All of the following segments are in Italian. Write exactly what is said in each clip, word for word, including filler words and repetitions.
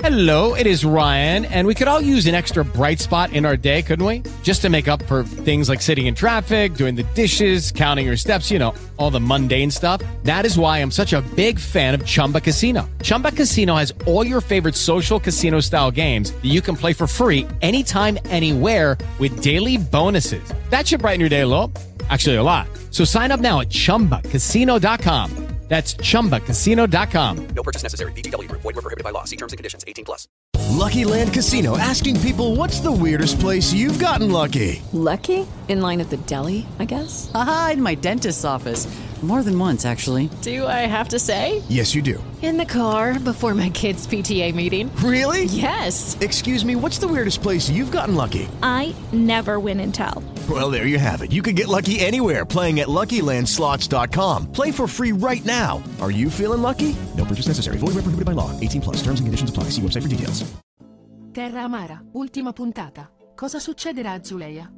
Hello, it is Ryan, and we could all use an extra bright spot in our day, couldn't we? Just to make up for things like sitting in traffic, doing the dishes, counting your steps, you know, all the mundane stuff. That is why I'm such a big fan of Chumba Casino. Chumba Casino has all your favorite social casino-style games that you can play for free anytime, anywhere with daily bonuses. That should brighten your day a little. Actually, a lot. So sign up now at chumba casino dot com. That's chumba casino dot com. No purchase necessary. V G W Group. Void where prohibited by law. See terms and conditions. eighteen plus. Lucky Land Casino, asking people, what's the weirdest place you've gotten lucky? Lucky? In line at the deli, I guess? Aha, in my dentist's office. More than once, actually. Do I have to say? Yes, you do. In the car before my kids' P T A meeting. Really? Yes. Excuse me, what's the weirdest place you've gotten lucky? I never win and tell. Well, there you have it. You can get lucky anywhere, playing at Lucky Land Slots dot com. Play for free right now. Are you feeling lucky? No purchase necessary. Void where prohibited by law. eighteen plus. Terms and conditions apply. See website for details. Terra Amara, ultima puntata. Cosa succederà a Zuleia?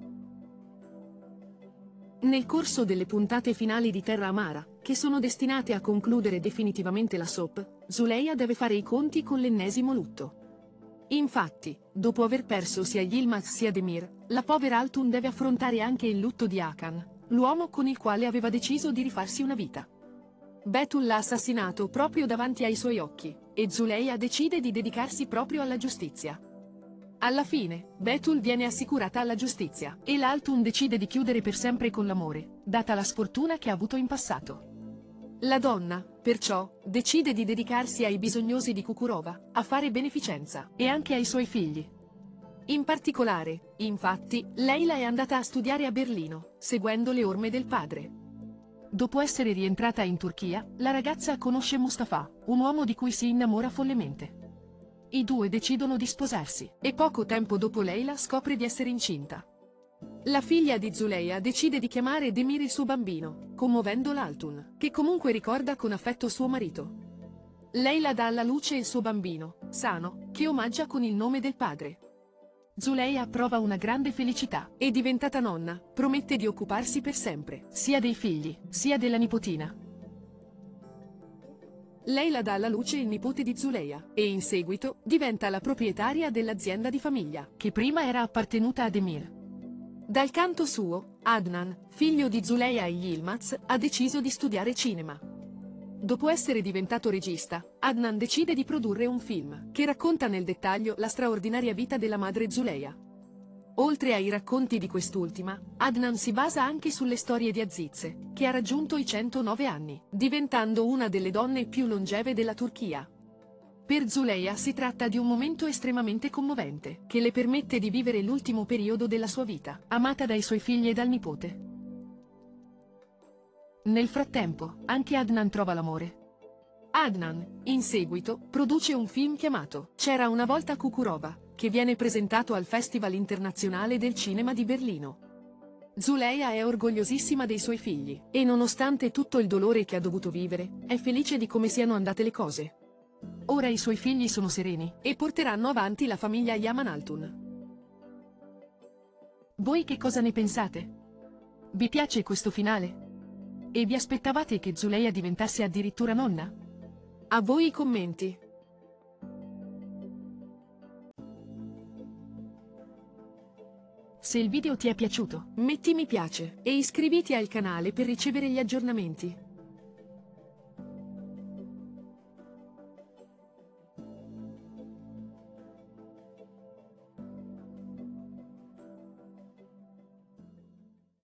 Nel corso delle puntate finali di Terra Amara, che sono destinate a concludere definitivamente la soap, Zuleia deve fare i conti con l'ennesimo lutto. Infatti, dopo aver perso sia Yilmaz sia Demir, la povera Altun deve affrontare anche il lutto di Hakan, l'uomo con il quale aveva deciso di rifarsi una vita. Betul l'ha assassinato proprio davanti ai suoi occhi, e Zuleia decide di dedicarsi proprio alla giustizia. Alla fine, Betul viene assicurata alla giustizia, e l'Altun decide di chiudere per sempre con l'amore, data la sfortuna che ha avuto in passato. La donna, perciò, decide di dedicarsi ai bisognosi di Kukurova, a fare beneficenza, e anche ai suoi figli. In particolare, infatti, Leila è andata a studiare a Berlino, seguendo le orme del padre. Dopo essere rientrata in Turchia, la ragazza conosce Mustafa, un uomo di cui si innamora follemente. I due decidono di sposarsi, e poco tempo dopo Leila scopre di essere incinta. La figlia di Zuleia decide di chiamare Demir il suo bambino, commuovendo l'Altun, che comunque ricorda con affetto suo marito. Leila dà alla luce il suo bambino, Sano, che omaggia con il nome del padre. Zuleia prova una grande felicità, e diventata nonna, promette di occuparsi per sempre, sia dei figli, sia della nipotina. Leila dà alla luce il nipote di Zuleia, e in seguito, diventa la proprietaria dell'azienda di famiglia, che prima era appartenuta a Demir. Dal canto suo, Adnan, figlio di Zuleia e Yilmaz, ha deciso di studiare cinema. Dopo essere diventato regista, Adnan decide di produrre un film, che racconta nel dettaglio la straordinaria vita della madre Zuleia. Oltre ai racconti di quest'ultima, Adnan si basa anche sulle storie di Aziz, che ha raggiunto i centonove anni, diventando una delle donne più longeve della Turchia. Per Zuleia si tratta di un momento estremamente commovente, che le permette di vivere l'ultimo periodo della sua vita, amata dai suoi figli e dal nipote. Nel frattempo, anche Adnan trova l'amore. Adnan, in seguito, produce un film chiamato C'era una volta Kukurova, che viene presentato al Festival Internazionale del Cinema di Berlino. Zuleia è orgogliosissima dei suoi figli, e nonostante tutto il dolore che ha dovuto vivere, è felice di come siano andate le cose. Ora i suoi figli sono sereni, e porteranno avanti la famiglia Yaman Altun. Voi che cosa ne pensate? Vi piace questo finale? E vi aspettavate che Zuleia diventasse addirittura nonna? A voi i commenti. Se il video ti è piaciuto, metti mi piace, e iscriviti al canale per ricevere gli aggiornamenti.